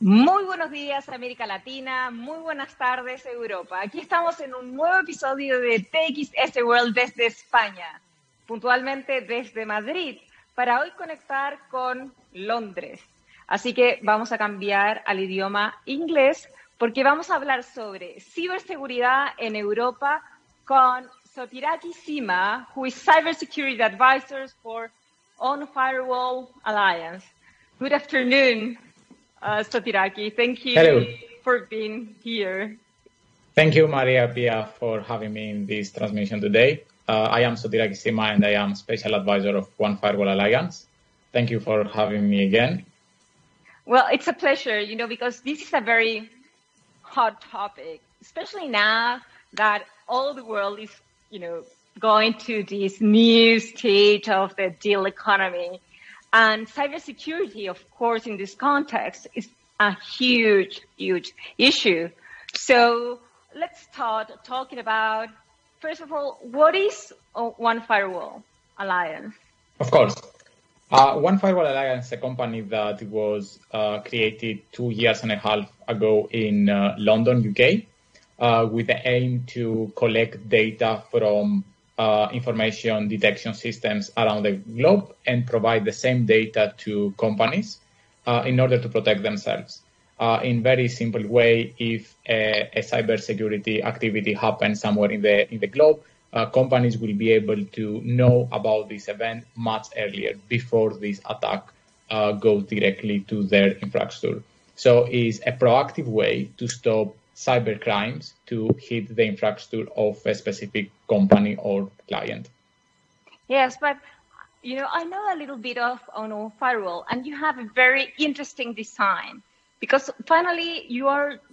Muy buenos días, América Latina. Muy buenas tardes, Europa. Aquí estamos en un nuevo episodio de TXS World desde España, puntualmente desde Madrid, para hoy conectar con Londres. Así que vamos a cambiar al idioma inglés porque vamos a hablar sobre ciberseguridad en Europa con Sotiraki Sima, who is Cybersecurity Advisor for On Firewall Alliance. Good afternoon. Sotiraki, thank you Hello. for being here. Thank you, Maria Pia, for having me in this transmission today. I am Sotiraki Sima, and I am Special Advisor of One Firewall Alliance. Thank you for having me again. Well, it's a pleasure, because this is a very hot topic, especially now that all the world is, going to this new stage of the digital economy. And cybersecurity, of course, in this context, is a huge, huge issue. So let's start talking about, first of all, what is One Firewall Alliance? Of course. One Firewall Alliance is a company that was created 2.5 years ago in London, UK, with the aim to collect data from information detection systems around the globe and provide the same data to companies in order to protect themselves. In very simple way, if a cybersecurity activity happens somewhere in the globe, companies will be able to know about this event much earlier before this attack goes directly to their infrastructure. So it's a proactive way to stop cyber crimes to hit the infrastructure of a specific company or client. Yes, but I know a little bit of on firewall, and you have a very interesting design because finally you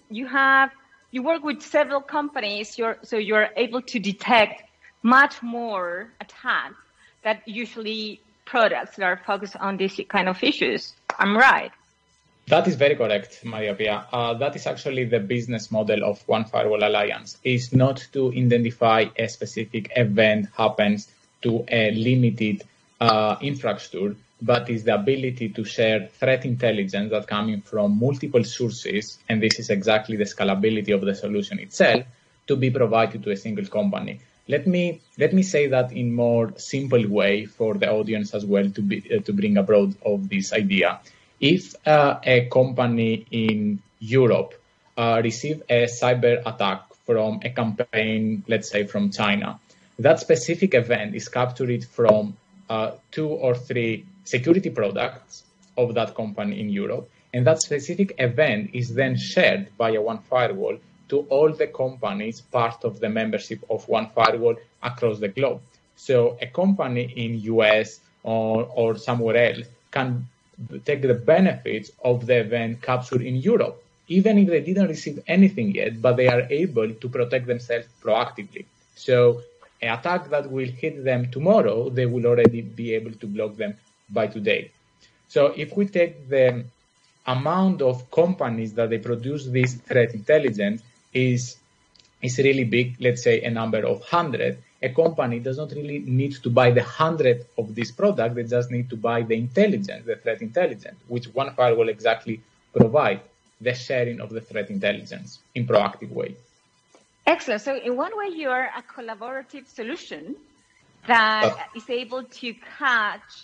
work with several companies, so you're able to detect much more attacks that usually products that are focused on these kind of issues. I'm right. That is very correct, Maria Pia. That is actually the business model of One Firewall Alliance, is not to identify a specific event happens to a limited infrastructure, but is the ability to share threat intelligence that coming from multiple sources, and this is exactly the scalability of the solution itself, to be provided to a single company. Let me say that in more simple way for the audience as well to bring abroad of this idea. If a company in Europe receives a cyber attack from a campaign, let's say from China, that specific event is captured from 2 or 3 security products of that company in Europe. And that specific event is then shared via One Firewall to all the companies part of the membership of One Firewall across the globe. So a company in US or somewhere else can take the benefits of the event captured in Europe, even if they didn't receive anything yet, but they are able to protect themselves proactively. So an attack that will hit them tomorrow, they will already be able to block them by today. So if we take the amount of companies that they produce this threat intelligence is really big, let's say a number of 100, a company does not really need to buy the 100 of this product. They just need to buy the intelligence, the threat intelligence, which One Firewall exactly provide the sharing of the threat intelligence in proactive way. Excellent. So in one way, you are a collaborative solution that is able to catch,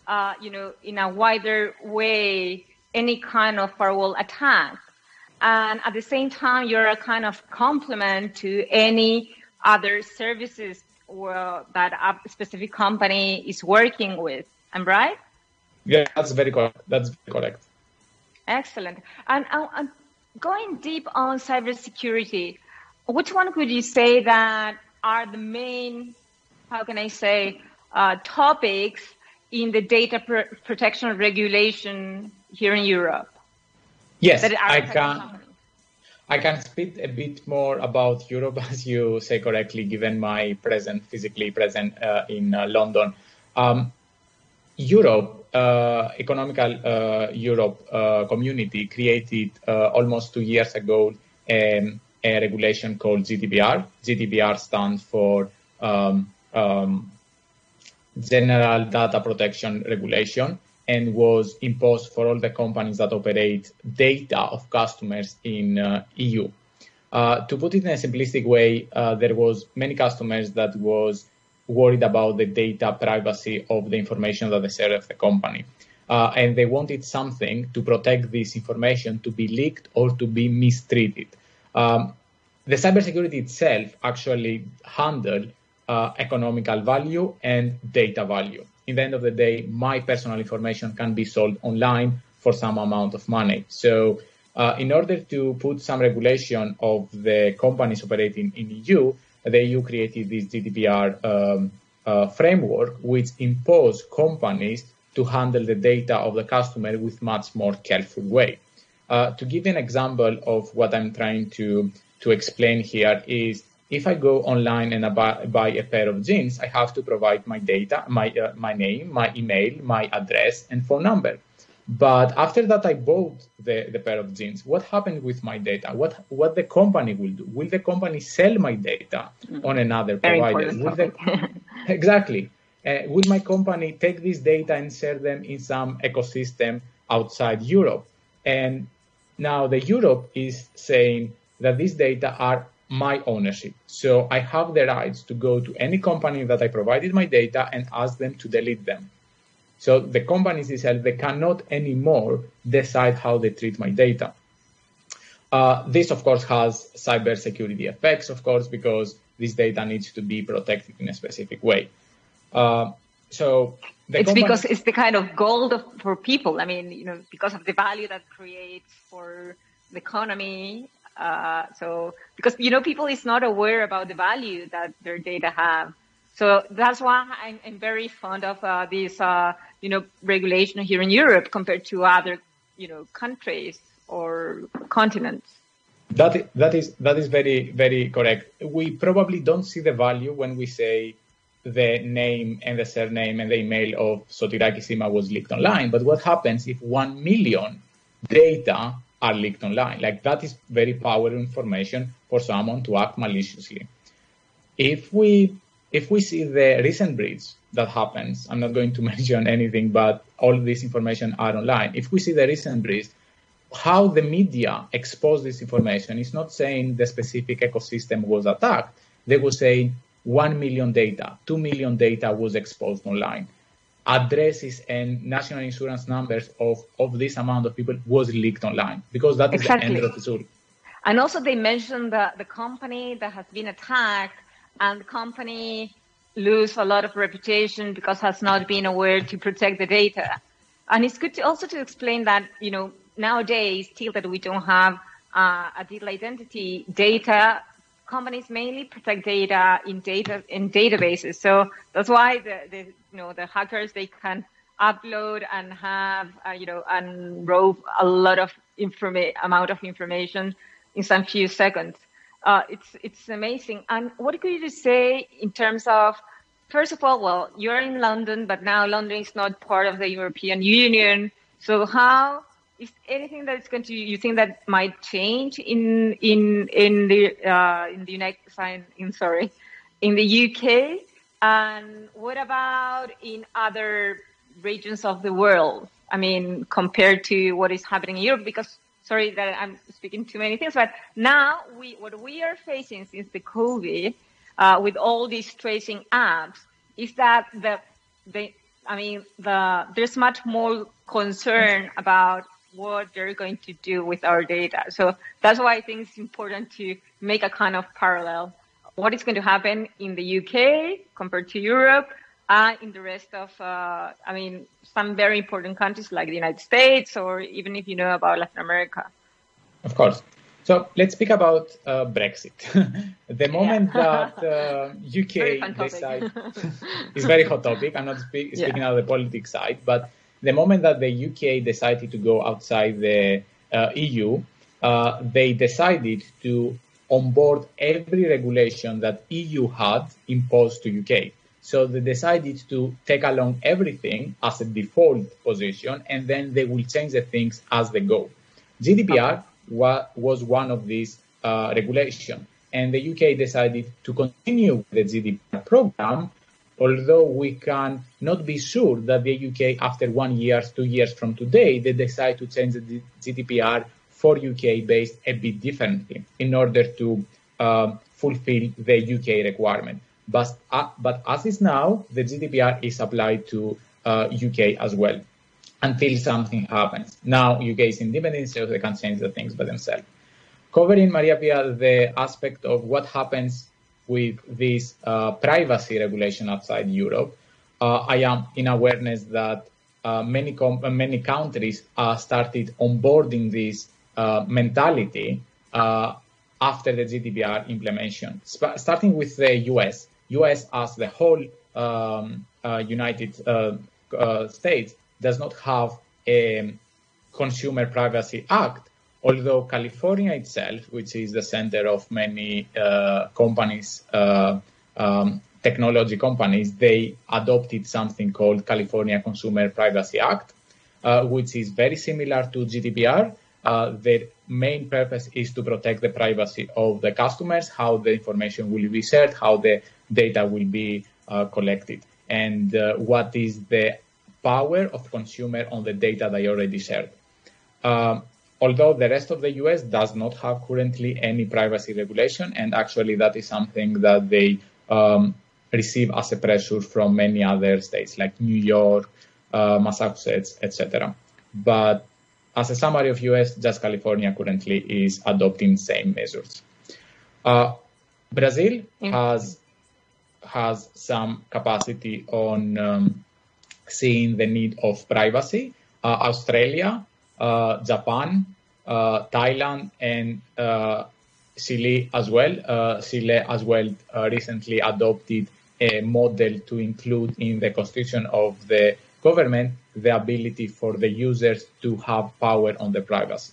in a wider way, any kind of firewall attack. And at the same time, you're a kind of complement to any other services that a specific company is working with. I'm right? Yeah, that's very correct. That's correct. Excellent. And going deep on cybersecurity, which one could you say that are the main, topics in the data protection regulation here in Europe? Yes, I can speak a bit more about Europe, as you say correctly, given my physically present in London. Europe, economical Europe community created almost 2 years ago a regulation called GDPR. GDPR stands for General Data Protection Regulation, and was imposed for all the companies that operate data of customers in EU. To put it in a simplistic way, there was many customers that was worried about the data privacy of the information that they share of the company. And they wanted something to protect this information to be leaked or to be mistreated. The cybersecurity itself actually handled economical value and data value. In the end of the day, my personal information can be sold online for some amount of money. So in order to put some regulation of the companies operating in EU, the EU created this GDPR framework, which imposed companies to handle the data of the customer with much more careful way. To give an example of what I'm trying to explain here is, if I go online and buy a pair of jeans, I have to provide my data, my name, my email, my address, and phone number. But after that, I bought the pair of jeans. What happened with my data? What the company will do? Will the company sell my data on another provider? Exactly. Will my company take this data and share them in some ecosystem outside Europe? And now the Europe is saying that these data are my ownership. So I have the rights to go to any company that I provided my data and ask them to delete them. So the companies themselves, they cannot anymore decide how they treat my data. This, of course, has cybersecurity effects, of course, because this data needs to be protected in a specific way. Because it's the kind of gold for people. I mean, because of the value that creates for the economy. Because people is not aware about the value that their data have. So that's why I'm very fond of this, regulation here in Europe compared to other, countries or continents. That is very, very correct. We probably don't see the value when we say the name and the surname and the email of Sotirakis Sima was leaked online. But what happens if 1 million data are leaked online? Like, that is very powerful information for someone to act maliciously. If we see the recent breach that happens, I'm not going to mention anything, but all this information are online. If we see the recent breach, how the media expose this information is not saying the specific ecosystem was attacked. They will say 1 million data, 2 million data was exposed online. Addresses and national insurance numbers of this amount of people was leaked online, because that is the end of the story. And also they mentioned the company that has been attacked, and the company lose a lot of reputation because has not been aware to protect the data. And it's good to explain that, nowadays, still that we don't have a digital identity data, companies mainly protect data in databases. So that's why the hackers, they can upload and have and robe a lot of amount of information in some few seconds. It's amazing. And what could you say in terms of, first of all, well, you're in London, but now London is not part of the European Union. So how is anything that's you think that might change in the UK? And what about in other regions of the world? I mean, compared to what is happening in Europe, because sorry that I'm speaking too many things, but now what we are facing since the COVID, with all these tracing apps, is that there's much more concern about what they're going to do with our data. So that's why I think it's important to make a kind of parallel. What is going to happen in the UK compared to Europe, in the rest of, some very important countries like the United States, or even if you know about Latin America. Of course. So let's speak about Brexit. The moment that UK decides, it's a very hot topic. I'm not speaking out of the politics side, but the moment that the UK decided to go outside the EU, they decided to onboard every regulation that EU had imposed to UK. So they decided to take along everything as a default position, and then they will change the things as they go. GDPR was one of these regulations, and the UK decided to continue the GDPR program, although we can not be sure that the UK, after 1 year, 2 years from today, they decide to change the GDPR for UK based a bit differently in order to fulfill the UK requirement. But as is now, the GDPR is applied to UK as well until something happens. Now UK is independent, so they can change the things by themselves. Covering, Maria Pia, the aspect of what happens with this privacy regulation outside Europe, I am in awareness that many countries started onboarding this mentality after the GDPR implementation, starting with the US. US as the whole United States does not have a Consumer Privacy Act, although California itself, which is the center of many companies, technology companies, they adopted something called California Consumer Privacy Act, which is very similar to GDPR. The main purpose is to protect the privacy of the customers, how the information will be shared, how the data will be collected, and what is the power of consumer on the data they already shared. Although the rest of the US does not have currently any privacy regulation, and actually that is something that they receive as a pressure from many other states like New York, Massachusetts, etc. But as a summary of US, just California currently is adopting same measures. Brazil has some capacity on seeing the need of privacy. Australia, Japan, Thailand, and Chile as well. Recently adopted a model to include in the constitution of the government the ability for the users to have power on the privacy.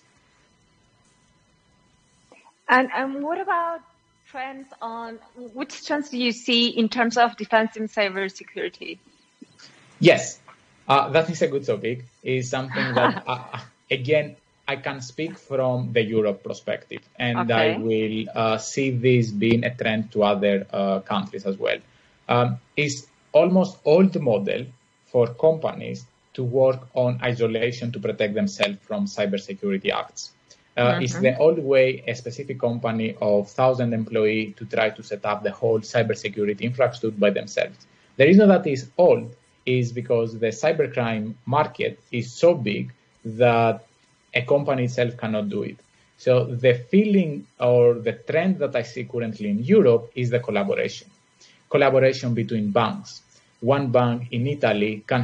And what about trends on which trends do you see in terms of defense and cybersecurity? Yes, that is a good topic. It's something that, again, I can speak from the Europe perspective, and I will see this being a trend to other countries as well. It's almost old model for companies to work on isolation to protect themselves from cybersecurity acts. It's the old way a specific company of 1,000 employees to try to set up the whole cybersecurity infrastructure by themselves. The reason that is old is because the cybercrime market is so big that a company itself cannot do it. So the feeling or the trend that I see currently in Europe is the collaboration between banks. One bank in Italy can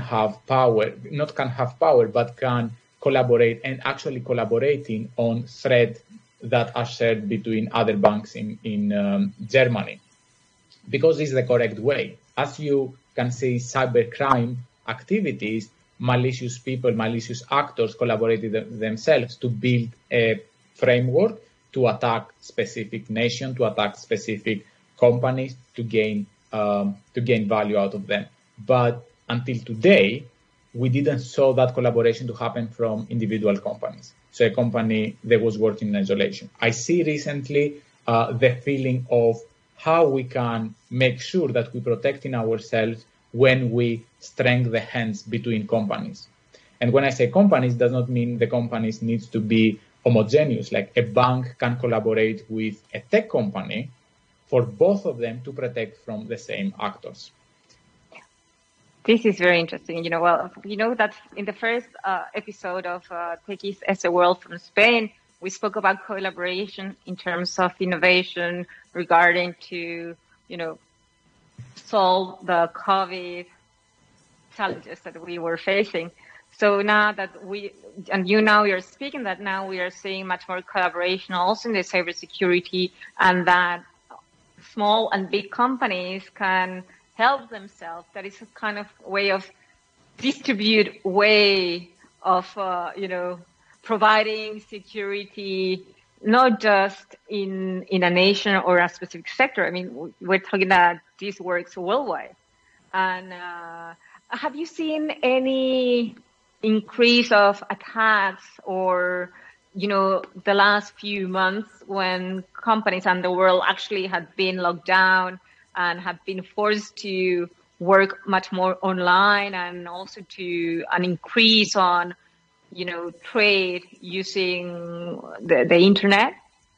collaborate and actually collaborating on threads that are shared between other banks in Germany, because it's the correct way. As you can see, cybercrime activities, malicious people, malicious actors collaborated themselves to build a framework to attack specific nations, to attack specific companies, to gain value out of them. But until today, we didn't saw that collaboration to happen from individual companies. So a company that was working in isolation. I see recently the feeling of how we can make sure that we protecting ourselves when we strengthen the hands between companies. And when I say companies, does not mean the companies needs to be homogeneous. Like a bank can collaborate with a tech company for both of them to protect from the same actors. This is very interesting. That in the first episode of Techies as a World from Spain, we spoke about collaboration in terms of innovation regarding to, solve the COVID challenges that we were facing. So now that you're speaking that now we are seeing much more collaboration also in the cybersecurity, and that small and big companies can help themselves. That is a kind of way of distribute way of, providing security, not just in a nation or a specific sector. I mean, we're talking that this works worldwide. And have you seen any increase of attacks or, the last few months when companies and the world actually had been locked down and have been forced to work much more online and also to an increase on, trade using the internet?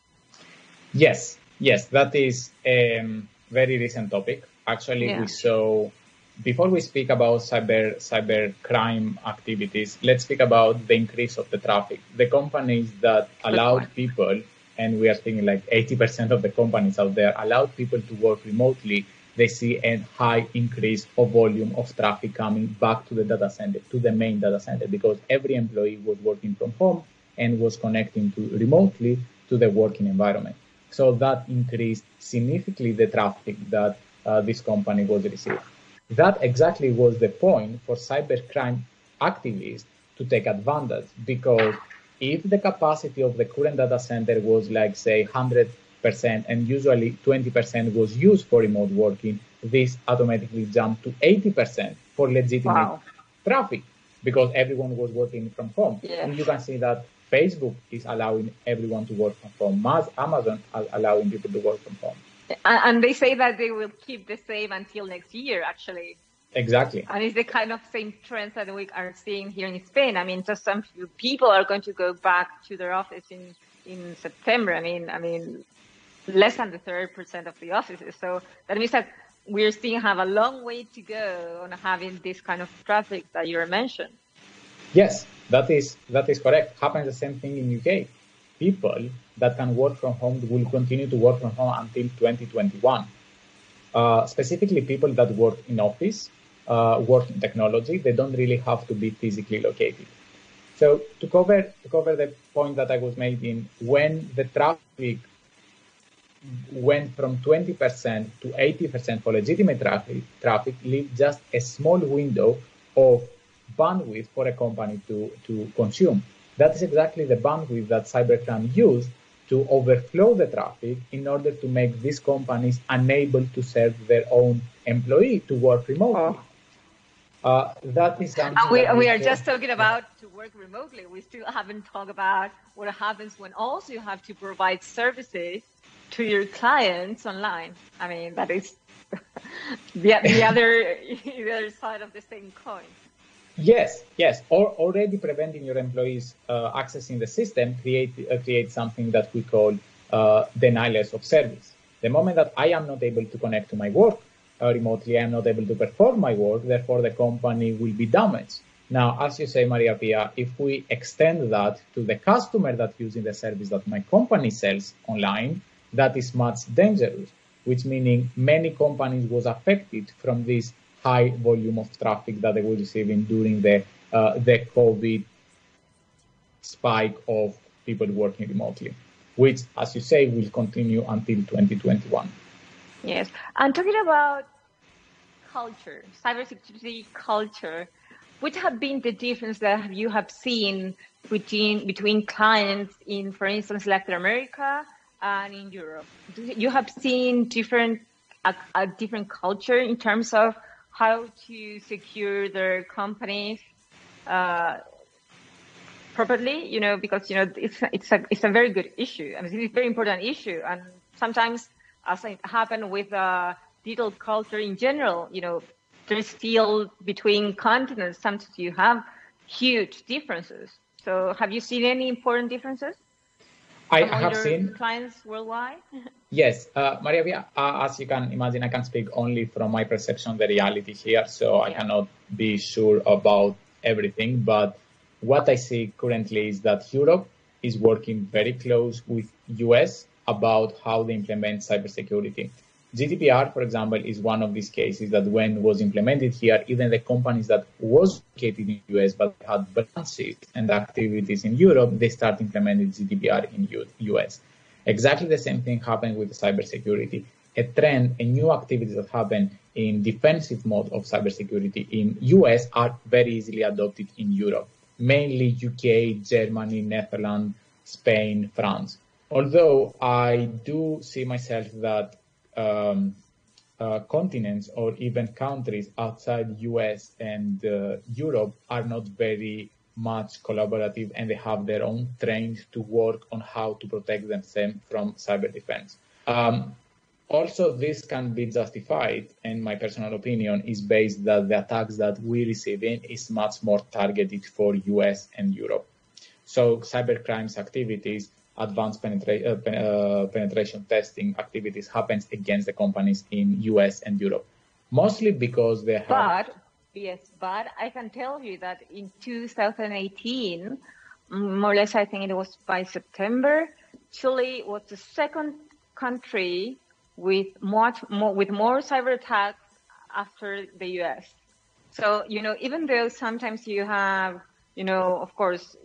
Yes, that is a very recent topic. Actually, we saw, before we speak about cyber crime activities, let's speak about the increase of the traffic. The companies that allowed people, and we are thinking like 80% of the companies out there, allowed people to work remotely, they see a high increase of volume of traffic coming back to the data center, to the main data center, because every employee was working from home and was connecting remotely to the working environment. So that increased significantly the traffic that this company was receiving. That exactly was the point for cybercrime activists to take advantage, because if the capacity of the current data center was like, say, 100%, and usually 20% was used for remote working, this automatically jumped to 80% for legitimate traffic, because everyone was working from home. Yes. And you can see that Facebook is allowing everyone to work from home. Amazon is allowing people to work from home. And they say that they will keep the same until next year, actually. Exactly. And it's the kind of same trends that we are seeing here in Spain. I mean, just some few people are going to go back to their office in September. I mean, less than the 30% of the offices. So that means that we still have a long way to go on having this kind of traffic that you mentioned. Yes, that is correct. Happens the same thing in UK. People that can work from home will continue to work from home until 2021. Specifically, people that work in office, work in technology, they don't really have to be physically located. So to cover the point that I was making, when the traffic went from 20% to 80% for legitimate traffic leaves just a small window of bandwidth for a company to consume. That is exactly the bandwidth that cybercrime used to overflow the traffic in order to make these companies unable to serve their own employee to work remotely. That is something we are just talking about to work remotely. We still haven't talked about what happens when also you have to provide services to your clients online. I mean, that is the other side of the same coin. Yes. Already preventing your employees accessing the system create something that we call denials of service. The moment that I am not able to connect to my work remotely, I am not able to perform my work, therefore the company will be damaged. Now, as you say, Maria Pia, if we extend that to the customer that's using the service that my company sells online, that is much dangerous, which meaning many companies was affected from this high volume of traffic that they were receiving during the COVID spike of people working remotely, which, as you say, will continue until 2021. Yes. And talking about culture, cybersecurity culture, what have been the difference that you have seen between clients in, for instance, Latin America and in Europe? You have seen a different culture in terms of how to secure their companies properly, because it's a very good issue. I mean, it's a very important issue, and sometimes, as it happened with digital culture in general, there's still between continents. Sometimes you have huge differences. So, have you seen any important differences? I have seen clients worldwide. Yes, Maria, as you can imagine, I can speak only from my perception of the reality here, so I cannot be sure about everything. But what I see currently is that Europe is working very close with US about how they implement cybersecurity. GDPR, for example, is one of these cases that when it was implemented here, even the companies that was located in the US but had branches and activities in Europe, they start implementing GDPR in US. Exactly the same thing happened with cybersecurity. A new activities that happen in defensive mode of cybersecurity in US are very easily adopted in Europe, mainly UK, Germany, Netherlands, Spain, France. Although I do see myself that continents or even countries outside US and Europe are not very much collaborative, and they have their own trains to work on how to protect themselves from cyber defense. Also, this can be justified, and my personal opinion is based that the attacks that we're receiving is much more targeted for US and Europe. So cybercrimes activities, advanced penetration testing activities happens against the companies in US and Europe, mostly because they have... But I can tell you that in 2018, more or less, I think it was by September, Chile was the second country with more cyber attacks after the US. So, even though sometimes you have, of course,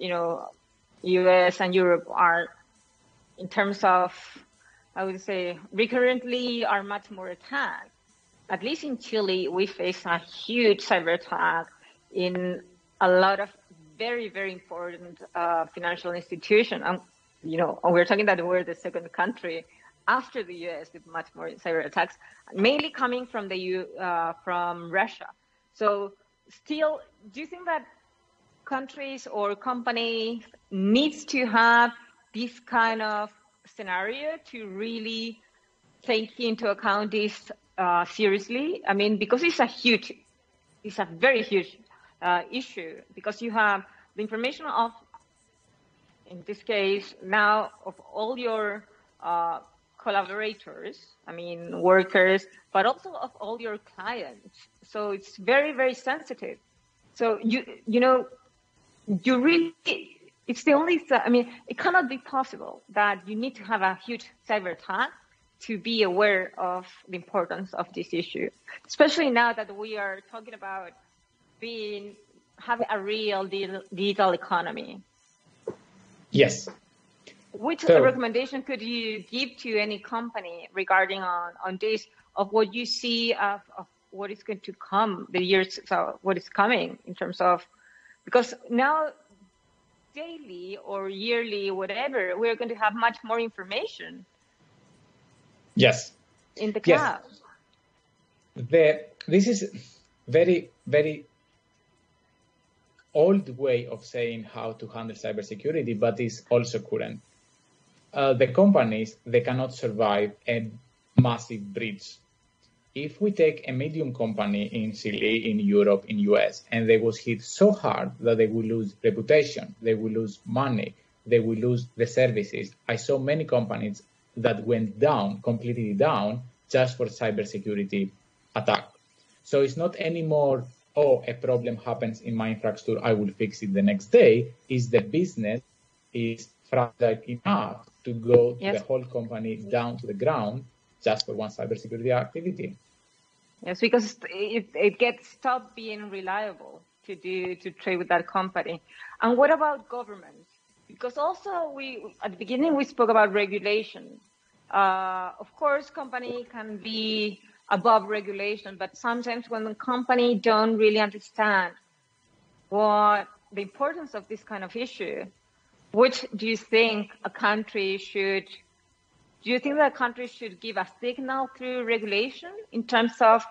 US and Europe are, in terms of, I would say, recurrently are much more attacked. At least in Chile, we face a huge cyber attack in a lot of very, very important financial institutions. We're talking that we're the second country after the US with much more cyber attacks, mainly coming from from Russia. So still, do you think that countries or companies needs to have this kind of scenario to really take into account this seriously? I mean, because it's a very huge issue, because you have the information of, in this case, now of all your collaborators, workers, but also of all your clients. So it's very, very sensitive. So you really, it's the only, it cannot be possible that you need to have a huge cyber attack to be aware of the importance of this issue, especially now that we are talking about having a real digital economy. Yes. Which recommendation could you give to any company regarding on this, of what you see of what is going to come, what is coming in terms of, because now daily or yearly, whatever, we're going to have much more information. Yes. In the cloud. Yes. This is very, very old way of saying how to handle cybersecurity, but is also current. The companies, they cannot survive a massive breach. If we take a medium company in Chile, in Europe, in US, and they was hit so hard that they will lose reputation, they will lose money, they will lose the services. I saw many companies that went down, completely down, just for cybersecurity attack. So it's not anymore, a problem happens in my infrastructure, I will fix it the next day. Is the business is fragile enough to go the whole company down to the ground just for one cybersecurity activity? Yes, because it gets stopped being reliable to trade with that company. And what about governments? Because also at the beginning we spoke about regulation. Of course, company can be above regulation, but sometimes when the company don't really understand what the importance of this kind of issue, which do you think a country should? Do you think that countries should give a signal through regulation in terms of,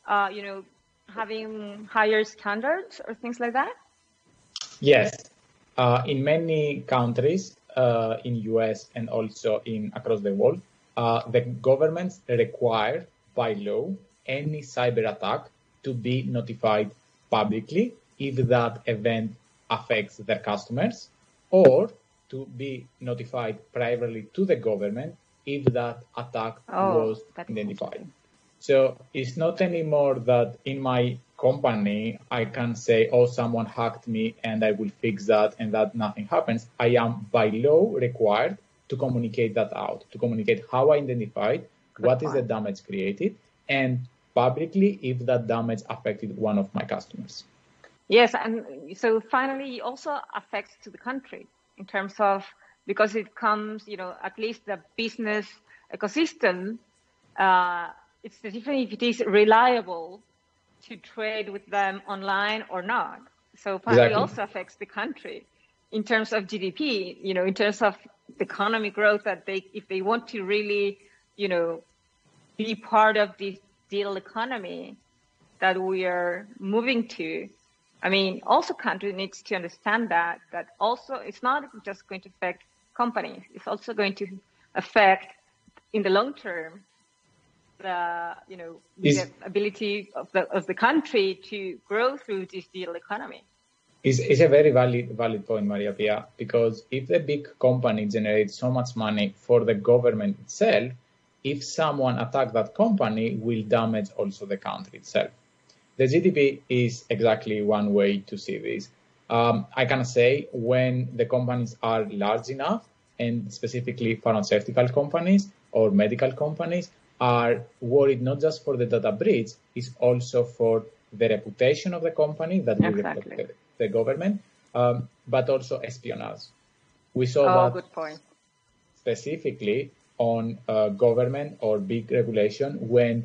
having higher standards or things like that? Yes. In many countries, in US and also across the world, the governments require by law any cyber attack to be notified publicly if that event affects their customers, or to be notified privately to the government if that attack was identified. So it's not anymore that in my company I can say, someone hacked me and I will fix that and that nothing happens. I am by law required to communicate that out, to communicate how I identified, what is the damage created, and publicly if that damage affected one of my customers. Yes, and so finally it also affects to the country in terms of, because it comes, at least the business ecosystem, it's the difference if it is reliable to trade with them online or not. So finally also affects the country in terms of GDP, in terms of economic growth, that if they want to really, be part of this digital economy that we are moving to. Also country needs to understand that also it's not just going to affect companies, it's also going to affect in the long term the ability of the country to grow through this digital economy. It's a very valid point, Maria Pia, because if the big company generates so much money for the government itself, if someone attacks that company, will damage also the country itself. The GDP is exactly one way to see this. I can say when the companies are large enough, and specifically pharmaceutical companies or medical companies are worried not just for the data breach, it's also for the reputation of the company that will reflect the government, but also espionage. We saw that good point. Specifically on government or big regulation when,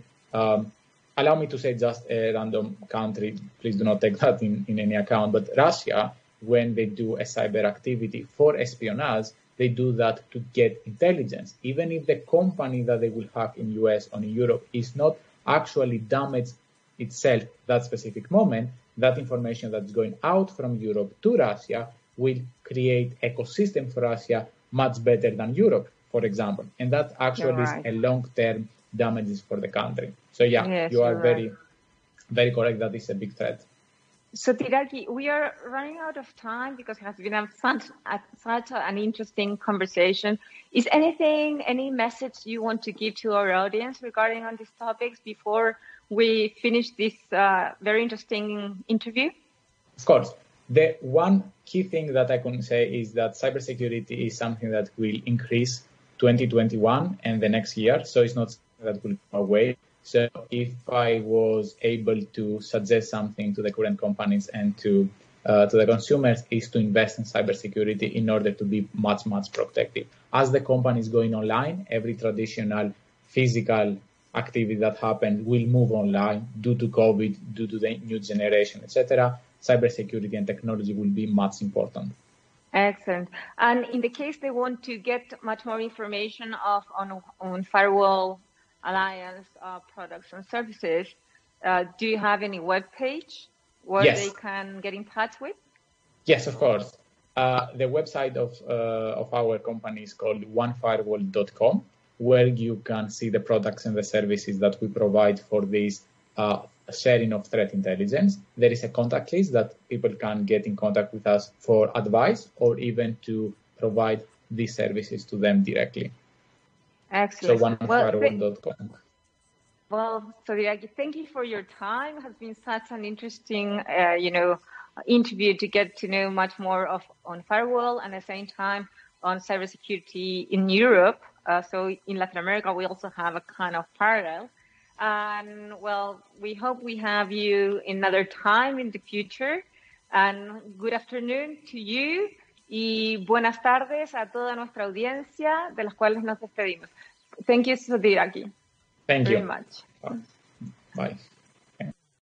allow me to say just a random country, please do not take that in any account, but Russia, when they do a cyber activity for espionage, they do that to get intelligence. Even if the company that they will hack in US or in Europe is not actually damaged itself that specific moment, that information that's going out from Europe to Russia will create ecosystem for Russia much better than Europe, for example. And that actually is a long-term damages for the country. So yes, you are very, very correct. That is a big threat. So Tiraki, we are running out of time because it has been such an interesting conversation. Is any message you want to give to our audience regarding on these topics before we finish this very interesting interview? Of course. The one key thing that I can say is that cybersecurity is something that will increase 2021 and the next year. So it's not something that will go away. So if I was able to suggest something to the current companies and to the consumers is to invest in cybersecurity in order to be much protected. As the company is going online, every traditional physical activity that happens will move online due to COVID, due to the new generation, etc. Cybersecurity and technology will be much important. Excellent. And in the case they want to get much more information on Firewall Alliance products and services, do you have any web page where they can get in touch with? Yes, of course. The website of our company is called onefirewall.com, where you can see the products and the services that we provide for this sharing of threat intelligence. There is a contact list that people can get in contact with us for advice or even to provide these services to them directly. Excellent. So onefirewall.com. Well, Tiraki, thank you for your time. It has been such an interesting, interview to get to know much more on Firewall and at the same time on cybersecurity in Europe. So in Latin America, we also have a kind of parallel. And well, we hope we have you another time in the future. And good afternoon to you. Y buenas tardes a toda nuestra audiencia, de las cuales nos despedimos. Thank you, Tiraki. Thank you very much. Bye.